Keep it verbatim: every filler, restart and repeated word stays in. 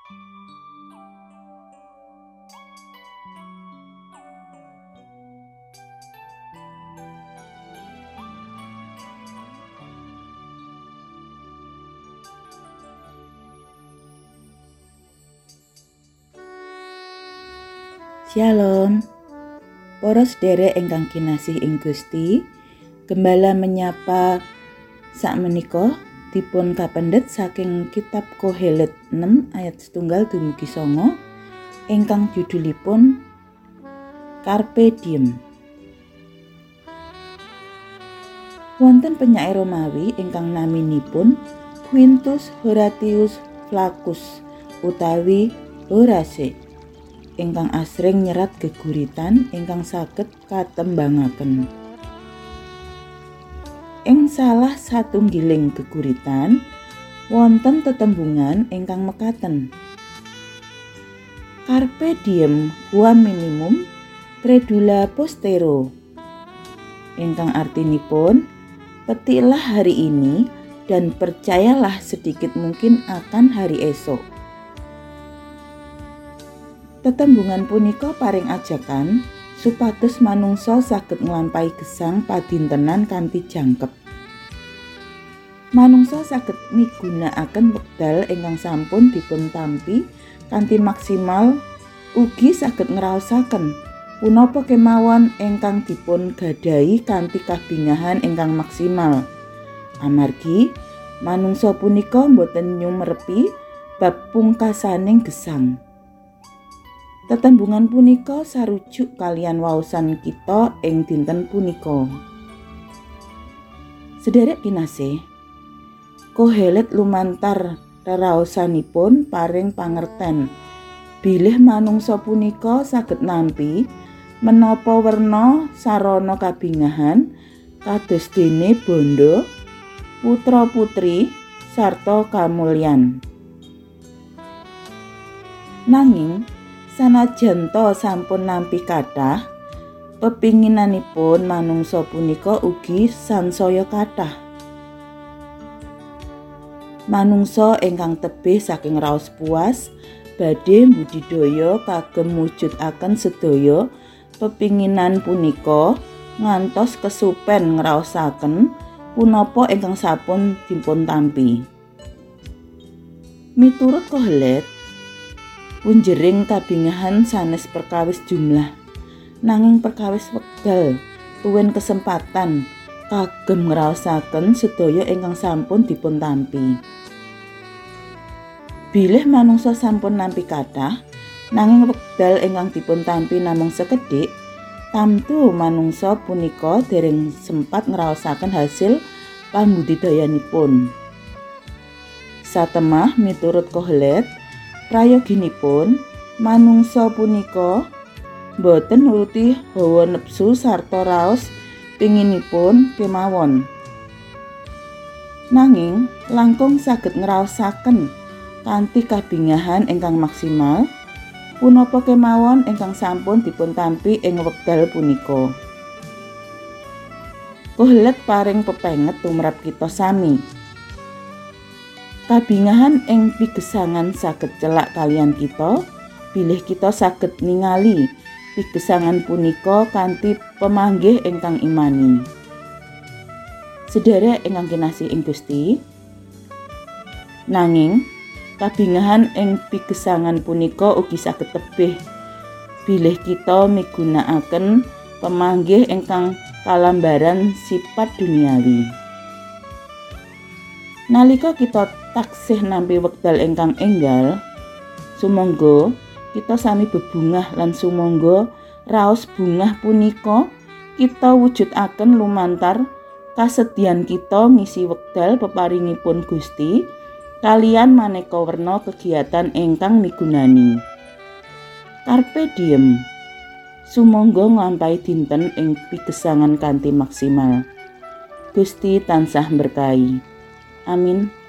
Shalom, para sedherek ingkang kinasih ing Gusti, gembala menyapa sakmenika dipun kapendhet saking kitab Kohelet enam ayat setunggal dumugi sanga ingkang judulipun Carpe Diem. Wonten penyair Romawi ingkang naminipun Quintus Horatius Flaccus utawi Horace ingkang asring nyerat geguritan ingkang saged katembangaken. Ing salah satunggiling geguritan wonten tetembungan ingkang mekaten. Carpe diem quam minimum credula postero. Ingkang artinipun petiklah hari ini dan percayalah sedikit mungkin akan hari esok. Tetembungan punika paring ajakan supados manungsa saged nglampahi gesang padintenan kanthi jangkep. Manungsa saged migunakaken wekdal ingkang sampun dipun tampi kanthi maksimal, ugi saged ngraosaken punapa kemawon ingkang dipun gadahi kanthi kabingahan ingkang maksimal. Amargi manungsa punika boten nyumerepi bab pungkasaning gesang. Tetembungan punika sarujuk kalian waosan kita ing dinten punika. Sedherek kinasih, Kohelet lumantar reraosanipun paring pangerten bilih manungsa punika saged nampi menapa werna sarana kabingahan kados dene bondo, putra-putri sarta kamulyan. Nanging sanajan to sampun nampi kathah, pepinginanipun manungsa punika ugi sansaya kathah. Manungsa ingkang tebih saking raos puas badhe mbudidaya kagem mujudaken sedaya pepinginan punika ngantos kesupen ngraosaken punapa ingkang sampun dipun tampi. Miturut Kohelet, punjering kabingahan sanes perkawis jumlah, nanging perkawis wekdal tuwin kesempatan kagem ngraosaken sedaya ingkang sampun dipun tampi. Bilih manungsa sampun nampi kathah, nanging wekdal ingkang dipun tampi namung sekedhik, tamtu manungsa punika dereng sempat ngraosaken hasil pambudidayanipun. Satemah miturut Kohelet, prayoginipun manungsa punika boten nuruti hawa nepsu sarta raos pinginipun kemawon. Nanging langkung saged ngraosaken kanthi kabingahan ingkang maksimal punapa kemawon ingkang sampun dipun tampi ing wekdal punika. Kohelet paring pepenget tumrap kita sami. Kabingahan ing pigesangan saged celak kalian kita, bilih kita saged ningali pigesangan punika kanthi pemanggih ingkang imani. Sedherek ingkang kinasih ing Gusti, nanging kabingahan ing pigesangan punika ugi saged tebih bilih kita migunakaken pemanggih ingkang kalambaran sipat duniawi. Nalika kita taksih nampi wekdal ingkang enggal, sumangga kita sami bebungah lan sumangga raos bungah punika kita wujudaken lumantar kasedhian kita ngisi wekdal peparingipun Gusti kalian maneka werna kegiatan ingkang migunani. Carpe diem, sumangga nglampahi dinten ing pigesangan kanthi maksimal. Gusti tansah berkahi. Amin.